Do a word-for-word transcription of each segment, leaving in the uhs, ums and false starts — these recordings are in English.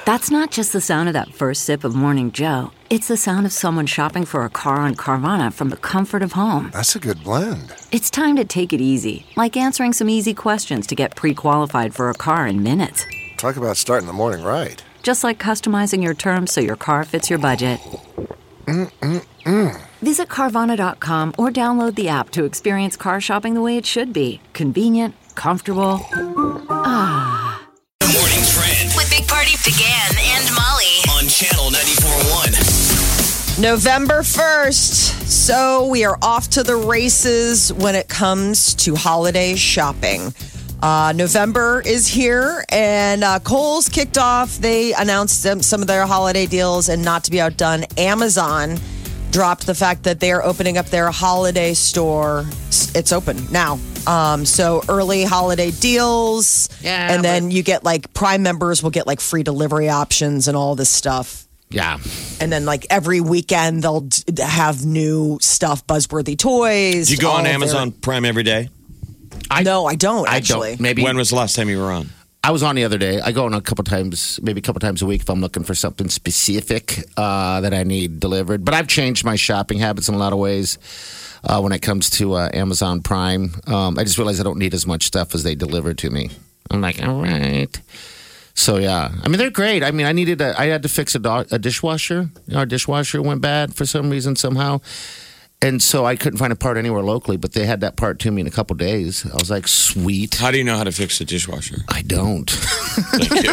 That's not just the sound of that first sip of Morning Joe. It's the sound of someone shopping for a car on Carvana from the comfort of home. That's a good blend. It's time to take it easy, like answering some easy questions to get pre-qualified for a car in minutes. Talk about starting the morning right. Just like customizing your terms so your car fits your budget. Mm-mm-mm. Visit Carvana dot com or download the app to experience car shopping the way it should be. Convenient, comfortable. Ah. The Morning Trend with Big Party began and Molly on Channel ninety-four point one. November first. So we are off to the races when it comes to holiday shopping. Uh, November is here, and uh, Kohl's kicked off. They announced some, some of their holiday deals, and not to be outdone, Amazon dropped the fact that they are opening up their holiday store. It's open now. Um, so early holiday deals, Yeah, and then but- you get like Prime members will get like free delivery options and all this stuff. Yeah. And then like every weekend they'll d- have new stuff, buzzworthy toys. Do you go all on of Amazon their- Prime every day? I, No, I don't I actually. don't. Maybe When was the last time you were on? I was on the other day. I go on a couple times, maybe a couple times a week if I'm looking for something specific uh, that I need delivered. But I've changed my shopping habits in a lot of ways uh, when it comes to uh, Amazon Prime. Um, I just realized I don't need as much stuff as they deliver to me. I'm like, all right. So yeah, I mean they're great. I mean I needed a, I had to fix a, do- a dishwasher. Our dishwasher went bad for some reason somehow. And so I couldn't find a part anywhere locally, but they had that part to me in a couple days. I was like, sweet. How do you know how to fix the dishwasher? I don't. Thank you.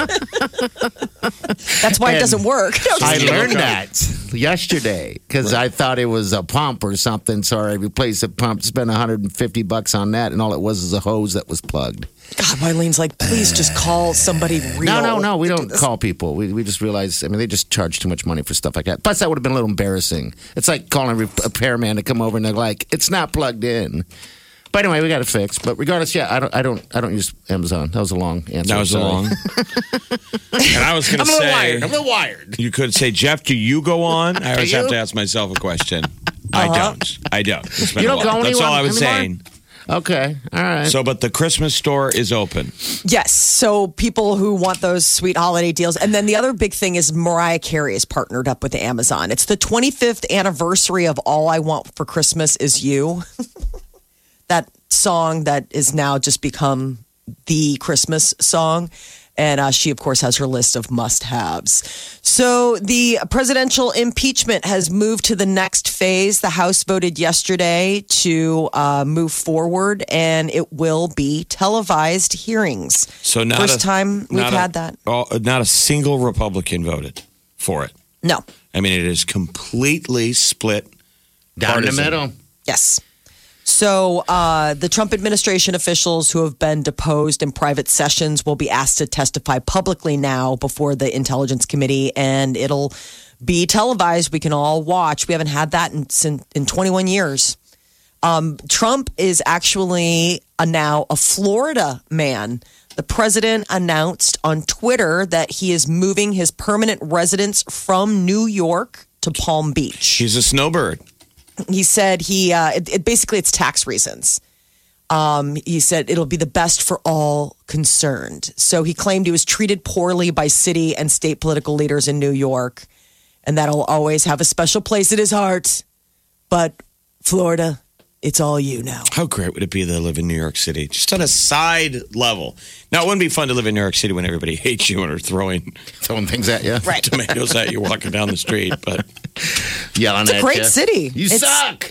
That's why it And doesn't work. I Yeah, learned okay. that yesterday because I thought it was a pump or something. So I replaced the pump, spent one hundred fifty bucks on that, and all it was is a hose that was plugged. God, Wylene's like, please just call somebody real. No, no, no. We to do don't this. call people. We we just realized. I mean, they just charge too much money for stuff like that. Plus, that would have been a little embarrassing. It's like calling a repairman to come over and they're like, "It's not plugged in." But anyway, we got it fixed. But regardless, yeah, I don't, I don't, I don't use Amazon. That was a long answer. That was a Sorry. long. And I was going I'm to a little say, wired. I'm a little wired. you could say, Jeff, do you go on? I always you? have to ask myself a question. I don't. I don't. It's been You a don't while. go That's all I anywhere was anymore? saying. Okay, all right. So, but the Christmas store is open. Yes. So people who want those sweet holiday deals. And then the other big thing is Mariah Carey is partnered up with Amazon. It's the twenty-fifth anniversary of All I Want for Christmas Is You. That song that is now just become the Christmas song. And uh, she, of course, has her list of must-haves. So the presidential impeachment has moved to the next phase. The House voted yesterday to uh, move forward, and it will be televised hearings. So not First a, time we've not a- had that. oh, not a single Republican voted for it. No. I mean, it is completely split. Down the partisan. middle. Yes. So uh, the Trump administration officials who have been deposed in private sessions will be asked to testify publicly now before the Intelligence Committee, and it'll be televised. We can all watch. We haven't had that in, in, in twenty-one years. Um, Trump is actually a, now a Florida man. The president announced on Twitter that he is moving his permanent residence from New York to Palm Beach. He's a snowbird. He said he uh, it, it basically it's tax reasons. Um, he said it'll be the best for all concerned. So he claimed he was treated poorly by city and state political leaders in New York, and that'll always have a special place in his heart. But Florida, it's all you now. How great would it be to live in New York City? Just on a side level. Now, it wouldn't be fun to live in New York City when everybody hates you and are throwing Throwing things at you. Right. tomatoes at you walking down the street. But Yelling It's a at great you. city. You It's- suck.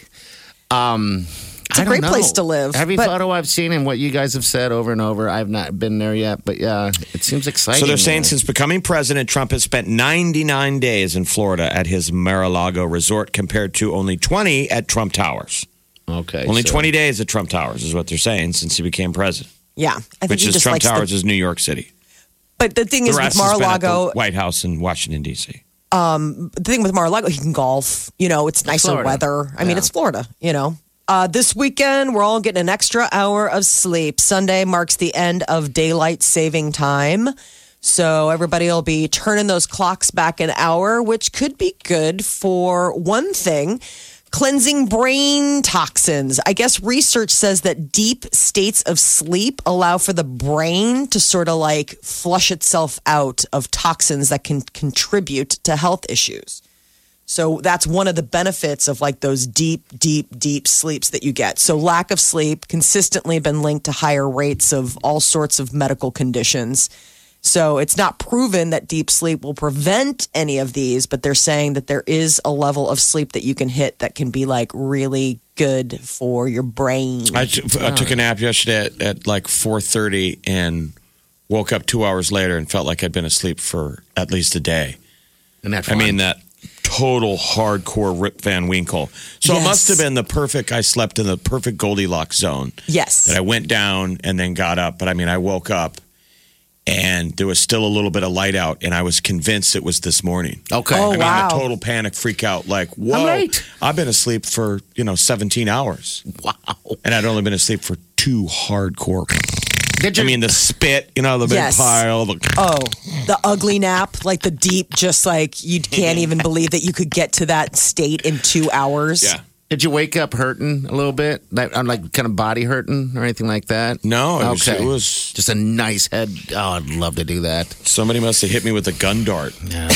Um, It's a I don't great know. place to live. Every but- photo I've seen and what you guys have said over and over, I've not been there yet. But yeah, it seems exciting. so they're saying there. since becoming president, Trump has spent ninety-nine days in Florida at his Mar-a-Lago resort compared to only twenty at Trump Towers. Okay. Only so- twenty days at Trump Towers is what they're saying since he became president, Yeah, I think which he is just Trump likes the- Towers is New York City. But the thing The is with rest has been at the Mar-a-Lago, White House in Washington, D C the thing with Mar-a-Lago, he can golf. You know, it's nicer Florida. weather. I mean, Yeah. it's Florida, you know. Uh, this weekend, we're all getting an extra hour of sleep. Sunday marks the end of daylight saving time. So everybody will be turning those clocks back an hour, which could be good for one thing. Cleansing brain toxins. I guess research says that deep states of sleep allow for the brain to sort of like flush itself out of toxins that can contribute to health issues. So that's one of the benefits of like those deep, deep, deep sleeps that you get. So lack of sleep consistently been linked to higher rates of all sorts of medical conditions. So it's not proven that deep sleep will prevent any of these, but they're saying that there is a level of sleep that you can hit that can be like really good for your brain. I, t- I took a nap yesterday at, at like four thirty and woke up two hours later and felt like I'd been asleep for at least a day. And that's I mean, that total hardcore Rip Van Winkle. So Yes. it must have been the perfect, I slept in the perfect Goldilocks zone. Yes. That I went down and then got up. But I mean, I woke up and there was still a little bit of light out, and I was convinced it was this morning. Okay. Oh, I mean, wow. a total panic, freak out, like, whoa, late. I've been asleep for, you know, seventeen hours. Wow. And I'd only been asleep for two hardcore. Did I you? mean, the spit, you know, the big Yes. pile. The, Oh, the ugly nap, like the deep, just like you can't even believe that you could get to that state in two hours. yeah. Did you wake up hurting a little bit? Like, I'm like kind of body hurting or anything like that? No, it was, Okay. it was, Just a nice head. Oh, I'd love to do that. somebody must have hit me with a gun dart. Yeah.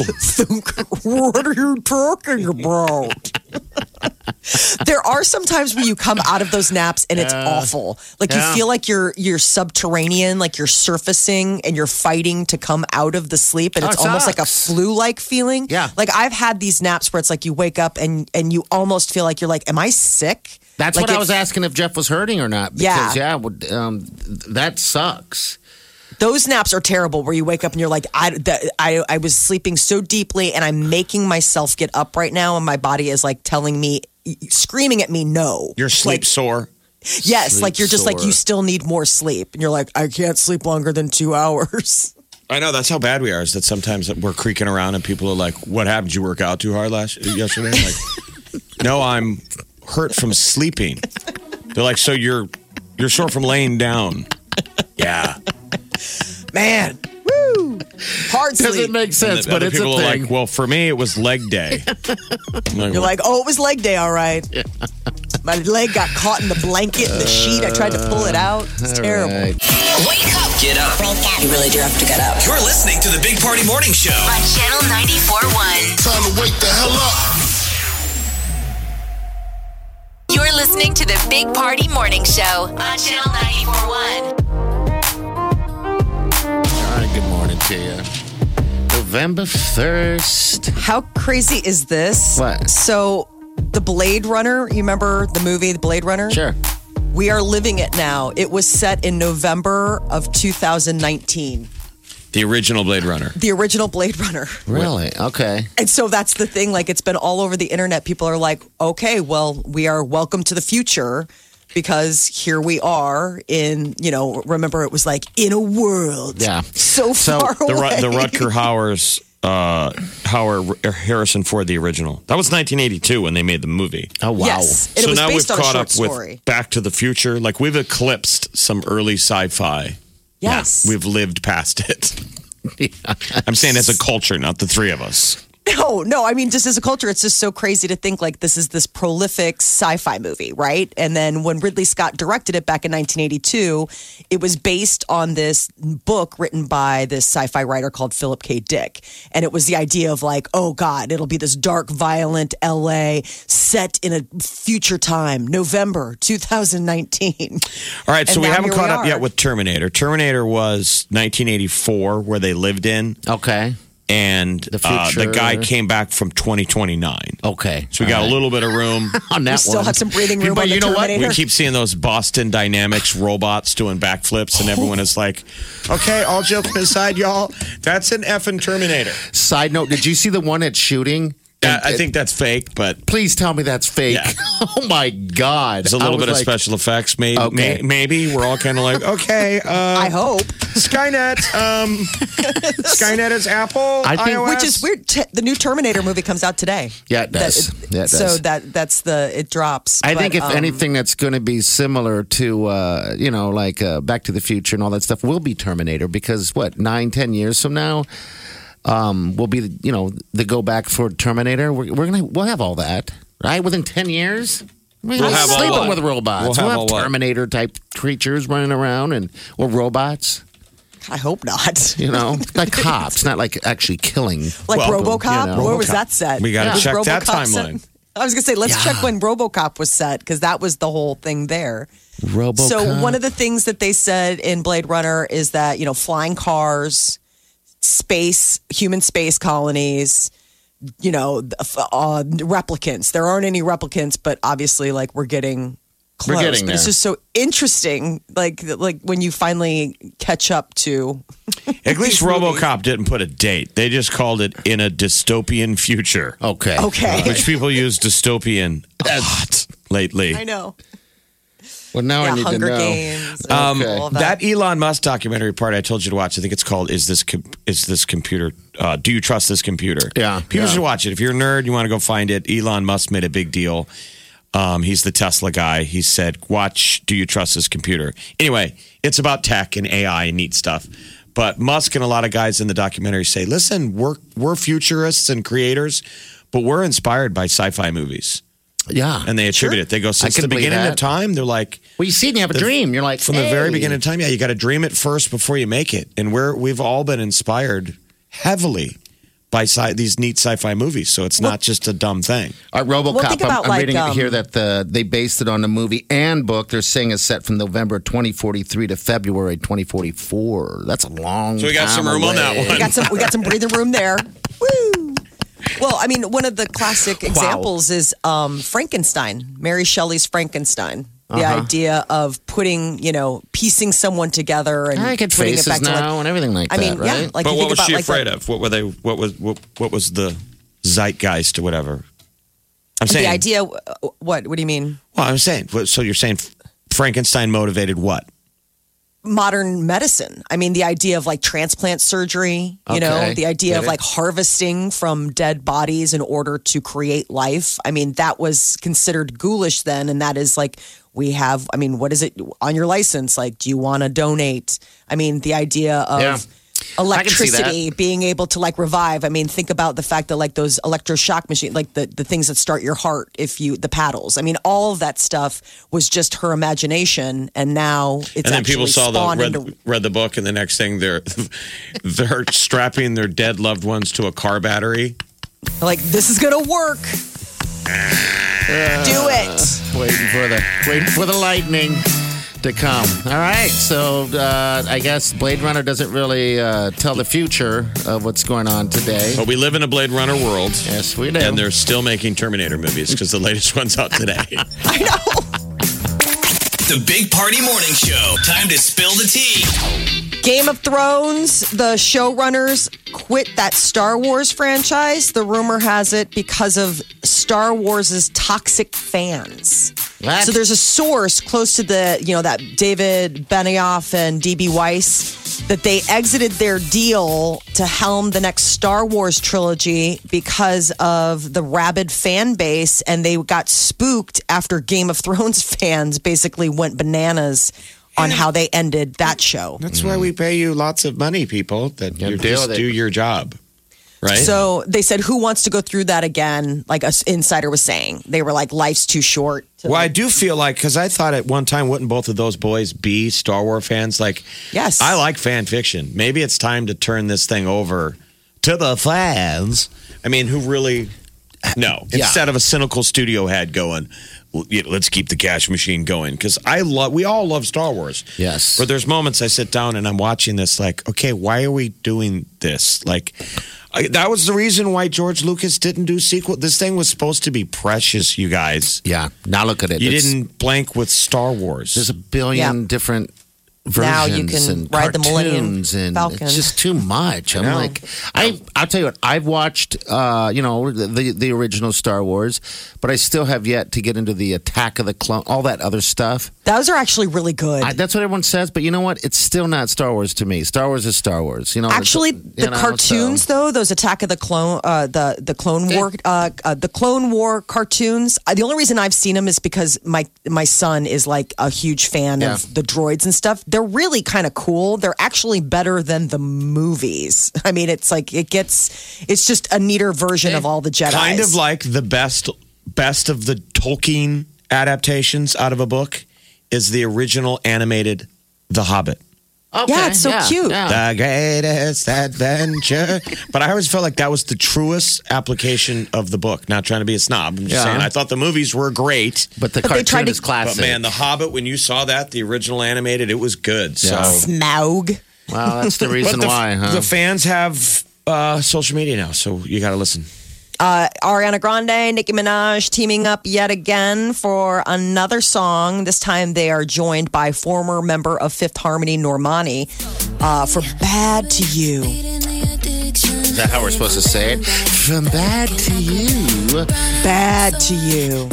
What are you talking about? There are some times when you come out of those naps and it's awful. Like Yeah. you feel like you're you're subterranean, like you're surfacing and you're fighting to come out of the sleep, and Oh, it's it almost like a sucks. flu-like feeling. Yeah. Like I've had these naps where it's like you wake up and and you almost feel like you're like, am I sick? That's Like what I it- was asking if Jeff was hurting or not. Yeah. Because, yeah, would- um, that sucks. Those naps are terrible where you wake up and you're like, I, the, I, I was sleeping so deeply and I'm making myself get up right now. And my body is like telling me, screaming at me, no. You're sleep Like, sore. yes. Sleep Like you're just like, sore. you still need more sleep. And you're like, I can't sleep longer than two hours. I know, that's how bad we are, is that sometimes we're creaking around and people are like, what happened? Did you work out too hard last yesterday? I'm like, no, I'm hurt from sleeping. They're like, so you're you're sore from laying down. Yeah. Man. Woo. Hard Doesn't sleep. make sense, And the but other it's a people are thing. like, well, for me, it was leg day. I'm You're like, oh, it was leg day. All right. My leg got caught in the blanket and the sheet. I tried to pull it out. It's terrible. Right. Wake up Get up. You really do have to get up. You're listening to the Big Party Morning Show. On Channel ninety-four point one. Time to wake the hell up. You're listening to the Big Party Morning Show on Channel ninety-four point one. All right, good morning to you. November first. How crazy is this? What? So, the Blade Runner, you remember the movie, The Blade Runner? Sure. We are living it now. It was set in November of two thousand nineteen. the original Blade Runner. The original Blade Runner. Really? Okay. And so that's the thing. Like, it's been all over the internet. People are like, okay, well, we are welcome to the future because here we are in, you know, remember it was like in a world Yeah. so, So far The, away. Ru- the Rutger Hauer's, uh, Hauer, Harrison Ford, the original. That was nineteen eighty-two when they made the movie. Oh, wow. Yes. And so it was now we've based on a caught short up story. with Back to the Future. Like, we've eclipsed some early sci-fi. Yes. We've lived past it. I'm saying as a culture, not the three of us. No, no. I mean, just as a culture, it's just so crazy to think like this is this prolific sci-fi movie, right? And then when Ridley Scott directed it back in nineteen eighty-two, it was based on this book written by this sci-fi writer called Philip K. Dick. And it was the idea of like, oh God, it'll be this dark, violent L A set in a future time, November two thousand nineteen. All right, so And we now haven't here caught we up are. yet with Terminator. Terminator was nineteen eighty-four, where they lived in, Okay. and The uh, the future. guy came back from twenty twenty-nine. Okay. So we got All a right. little bit of room. on that We still one. have some breathing room But on the you know what? Terminator. We keep seeing those Boston Dynamics robots doing backflips, and everyone is like, okay, all joking aside, y'all, that's an effing Terminator. Side note, did you see the one that's shooting? Yeah, I think that's fake, but Please tell me that's fake. Yeah. Oh, my God. there's a I little was bit of like, special effects. Maybe, Okay. may, maybe we're all kind of like, okay, uh, I hope. Skynet, um, Skynet is Apple, I think- iOS. Which is weird. T- the new Terminator movie comes out today. Yeah, it does. That- Yeah, it so does. that that's the it drops. I But, think if um, anything that's going to be similar to, uh, you know, like uh, Back to the Future and all that stuff will be Terminator because, what, nine, ten years from now, um, will be, you know, the go back for Terminator. We're, we're going to, we'll have all that. right? Within ten years? I mean, We'll we're have all sleeping what? with robots. We'll We'll have have, all what? Terminator-type creatures running around and or robots, I hope not. you know? Like cops, not like actually killing. Like Well, RoboCop? you know. Where was RoboCop. that set? We gotta Was check that RoboCop set? timeline. I was going to say, let's Yeah. check when RoboCop was set because that was the whole thing there. RoboCop. So one of the things that they said in Blade Runner is that, you know, flying cars, space, human space colonies, you know, uh, replicants. There aren't any replicants, but obviously, like, we're getting close. We're getting but it's there. just so interesting, like, like when you finally catch up to. At least these movies. RoboCop didn't put a date. They just called it in a dystopian future, Okay. Okay. which people use dystopian a lot lately. I know. Well, now I Yeah, need Hunger to know. Games. Um, Okay. all of that Elon Musk documentary part I told you to watch. I think it's called "Is this Com- is this computer? Uh, do you trust this computer?" Yeah, people yeah. should watch it. If you're a nerd, you want to go find it. Elon Musk made a big deal. Um, he's the Tesla guy. He said, "Watch. Do you trust this computer?" Anyway, it's about tech and A I and neat stuff. But Musk and a lot of guys in the documentary say, "Listen, we're we're futurists and creators, but we're inspired by sci-fi movies." Yeah. And they attribute it. They go, since can the believe beginning that. of time, they're like, well, you see it and you have a The- dream. You're like, from the very hey. beginning of time, yeah, you got to dream it first before you make it. And we're we've all been inspired heavily by sci- these neat sci-fi movies. So it's not just a dumb thing. Our RoboCop, Well, think I'm, about, I'm like, reading um, here that the, they based it on the movie and book. They're saying it's set from November twenty forty-three to February twenty forty-four. That's a long So we got time some room on that away. one. We got some. We got some breathing room there. Woo! Well, I mean, one of the classic examples is um, Frankenstein, Mary Shelley's Frankenstein. The Uh-huh. idea of putting, you know, piecing someone together and I get putting it faces back to now like. and everything like I mean, that, right? yeah, like but you what think was about she like afraid the, of? What were they? What was what, what was the zeitgeist or whatever? I'm saying the idea. What? What do you mean? Well, I'm saying. So you're saying Frankenstein motivated what? Modern medicine. I mean, the idea of like transplant surgery, you know, Okay. the idea Get of it. like harvesting from dead bodies in order to create life. I mean, that was considered ghoulish then. And that is like, we have, I mean, what is it on your license? Like, do you want to donate? I mean, the idea of Yeah. I can see that. electricity being able to like revive. I mean, think about the fact that like those electroshock machines, like the, the things that start your heart if you, the paddles. I mean, all of that stuff was just her imagination. And now it's And then people actually saw the spawned read, into- read the book, and the next thing they're they're strapping their dead loved ones to a car battery. like, this is going to work. Do it. Waiting for the waiting for the lightning to come. All right, so uh, I guess Blade Runner doesn't really uh, tell the future of what's going on today. But we live in a Blade Runner world. Yes, we do. And they're still making Terminator movies because the latest one's out today. I know. The Big Party Morning Show. Time to spill the tea. Game of Thrones, the showrunners quit that Star Wars franchise. The rumor has it because of Star Wars' toxic fans. What? So there's a source close to the, you know, that David Benioff and D B Weiss that they exited their deal to helm the next Star Wars trilogy because of the rabid fan base, and they got spooked after Game of Thrones fans basically went bananas on how they ended that show. That's why we pay you lots of money, people, that Yeah, you deal just with it. do your job. Right? So they said, who wants to go through that again? Like an insider was saying. They were like, life's too short. to- Well, I do feel like, because I thought at one time, wouldn't both of those boys be Star Wars fans? Like, Yes. I like fan fiction. Maybe it's time to turn this thing over to the fans. I mean, who really, no, Yeah. instead of a cynical studio head going, well, you know, let's keep the cash machine going. Because I love, we all love Star Wars. Yes. But there's moments I sit down and I'm watching this, like, okay, why are we doing this? Like, I, that was the reason why George Lucas didn't do sequel. This thing was supposed to be precious, you guys. Yeah, now look at it. You It's- didn't blank with Star Wars. There's a billion Yeah. different versions Now you can and ride the Millennium cartoons and Falcon. it's just too much. I'm know. like, I I'll tell you what, I've watched, uh, you know, the the original Star Wars, but I still have yet to get into the Attack of the Clone, all that other stuff. Those are actually really good. I, that's what everyone says, but you know what? It's still not Star Wars to me. Star Wars is Star Wars. You know, Actually, it's- you the know, cartoons, so- though, those Attack of the Clone, uh, the the Clone War, uh, uh, the Clone War cartoons. Uh, the only reason I've seen them is because my my son is like a huge fan Yeah. of the droids and stuff. They're really kind of cool. They're actually better than the movies. I mean, it's like it gets, it's just a neater version of all the Jedi. kind of like the best best of the Tolkien adaptations out of a book is the original animated The Hobbit. Okay, Yeah, it's so cute. yeah. The greatest adventure. But I always felt like that was the truest application of the book. Not trying to be a snob. I'm just Yeah. saying, I thought the movies were great. But the But they cartoon tried to- is classic. But man, The Hobbit, when you saw that, the original animated, it was good. Yeah. So, Smaug. Wow, that's the reason but the, why, huh? the fans have uh, social media now, so you got to listen. Uh, Ariana Grande, Nicki Minaj teaming up yet again for another song. This time they are joined by former member of Fifth Harmony, Normani, uh, for Bad to You. Is that how we're supposed to say it? From bad to you. Bad to You.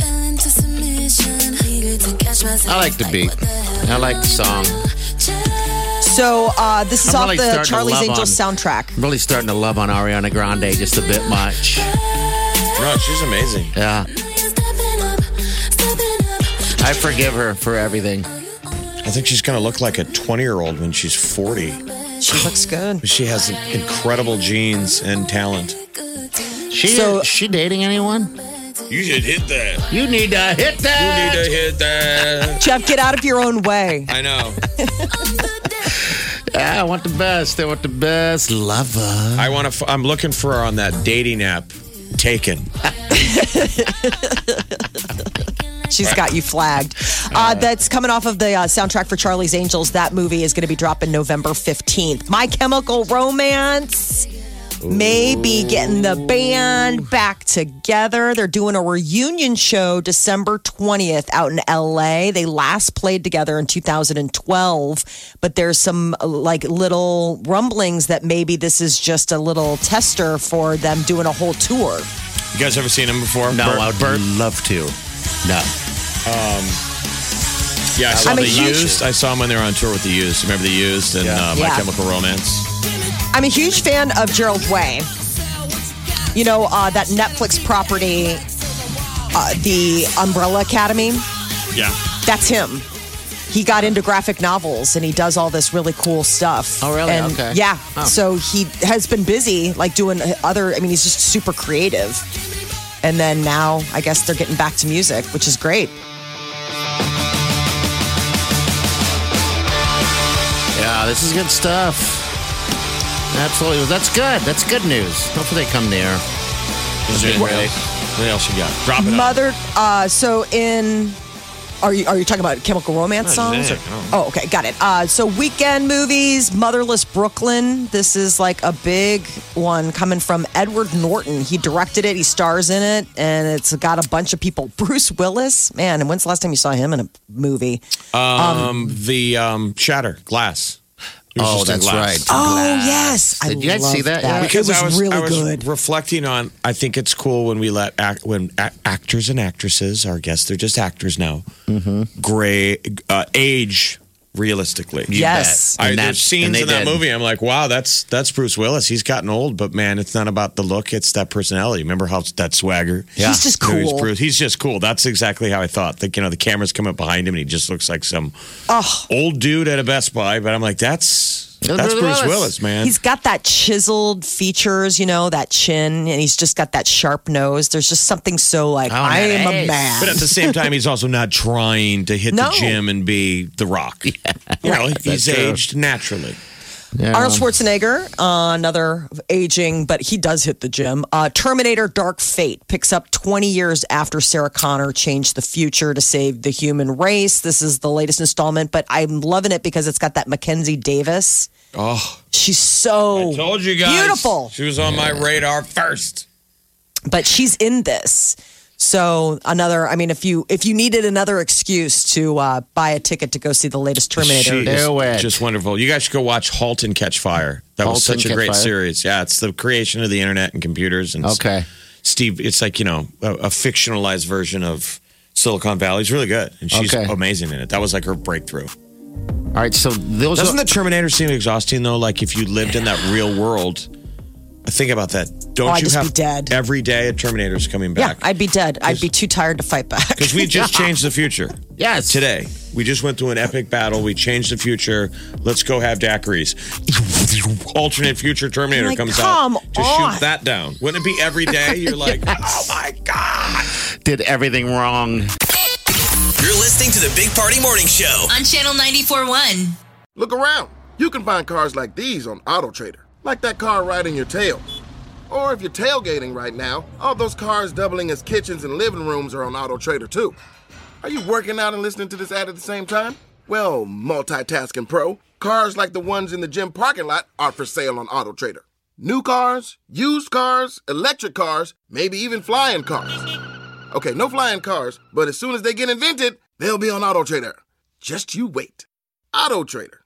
I like the beat. I like the song. So uh, this is I'm off really the starting to Charlie's love Angels on- soundtrack. I'm really starting to love on Ariana Grande just a bit much. No, she's amazing. Yeah. I forgive her for everything. I think she's going to look like a twenty-year-old when she's forty. She looks good. She has incredible genes and talent. She So- she dating anyone? You should hit that. You need to hit that. You need to hit that. Jeff, get out of your own way. I know. Yeah, I want the best. I want the best lover. I want to. I'm looking for her on that dating app. Taken. She's got you flagged. Uh, that's coming off of the uh, soundtrack for Charlie's Angels. That movie is going to be dropping November fifteenth. My Chemical Romance may be getting the band back together. They're doing a reunion show December twentieth out in L A. They last played together in two thousand twelve, but there's some uh, like little rumblings that maybe this is just a little tester for them doing a whole tour. You guys ever seen him before? No, Bert- I would Bert? love to. No. Yeah, I saw I'm a the huge- Used. I saw him when they were on tour with the Used. Remember the Used and Yeah. uh, My Yeah. Chemical Romance? I'm a huge fan of Gerald Way. You know, uh, that Netflix property, uh, the Umbrella Academy, Yeah. that's him. He got into graphic novels and he does all this really cool stuff. Oh, really? And Okay. Yeah. Oh. So he has been busy, like doing other, I mean, he's just super creative. And then now I guess they're getting back to music, which is great. Yeah, this is good stuff. Absolutely. That's good. That's good news. Hopefully they come near. Is there What anything else? What else you got? Drop it up. Mother, uh, so in, are you are you talking about Chemical Romance No, songs? just or- saying. oh, okay, got it. Uh, so weekend movies, Motherless Brooklyn. This is like a big one coming from Edward Norton. He directed it. He stars in it, and it's got a bunch of people. Bruce Willis, man. And when's the last time you saw him in a movie? Um, the um, Shatter Glass. It was Oh, just in that's glass. right. Oh Glass. yes, I Did you guys love see that? Yeah. Because it was, I was, really I was good. reflecting on. I think it's cool when we let act, when a- actors and actresses, our guests, they're just actors now. Mm-hmm. Gray uh, age realistically. You Yes. bet. I, And there's that- scenes and they in that did. movie. I'm like, wow, that's that's Bruce Willis. He's gotten old, but man, it's not about the look; it's that personality. Remember how that swagger? Yeah. He's just You know, he's cool. Bruce. He's just cool. That's exactly how I thought. Like, you know, the camera's coming up behind him, and he just looks like some Oh. old dude at a Best Buy. But I'm like, that's That's that's Bruce Bruce Willis. Willis, man. He's got that chiseled features, you know, that chin, and he's just got that sharp nose. There's just something so like, Oh, I am a nice. man. But at the same time, he's also not trying to hit No. the gym and be The Rock. You know, he's That's true. aged naturally. Yeah. Arnold Schwarzenegger, uh, another aging, but he does hit the gym. Uh, Terminator Dark Fate picks up twenty years after Sarah Connor changed the future to save the human race. This is the latest installment, but I'm loving it because it's got that Mackenzie Davis. Oh, She's so I told you guys. beautiful, She was on my radar first. but she's in this. So another, I mean, if you if you needed another excuse to uh, buy a ticket to go see the latest Terminator, She is Do it. just wonderful. You guys should go watch *Halt and Catch Fire*. That was Halt and such a Catch great Fire? series. Yeah, it's the creation of the internet and computers. And Okay. Steve, it's like, you know, a, a fictionalized version of Silicon Valley. It's really good, and she's Okay. amazing in it. That was like her breakthrough. All right, so those Doesn't are, the Terminator seem exhausting though? Like if you lived in that real world, think about that. Don't Oh, I'd you just have be dead. every day a Terminator's coming yeah, back? I'd be dead. I'd be too tired to fight back. Because we just changed the future. Yes. Today. We just went through an epic battle. We changed the future. Let's go have daiquiris. Alternate future Terminator Like, comes come out to on. shoot that down. Wouldn't it be every day? You're like, oh my God. did everything wrong. You're listening to the Big Party Morning Show on Channel ninety-four point one. Look around. You can find cars like these on AutoTrader, like that car right in your tail. Or if you're tailgating right now, all those cars doubling as kitchens and living rooms are on AutoTrader too. Are you working out and listening to this ad at the same time? Well, multitasking pro, cars like the ones in the gym parking lot are for sale on AutoTrader. New cars, used cars, electric cars, maybe even flying cars. Okay, no flying cars, but as soon as they get invented, they'll be on AutoTrader. Just you wait. AutoTrader.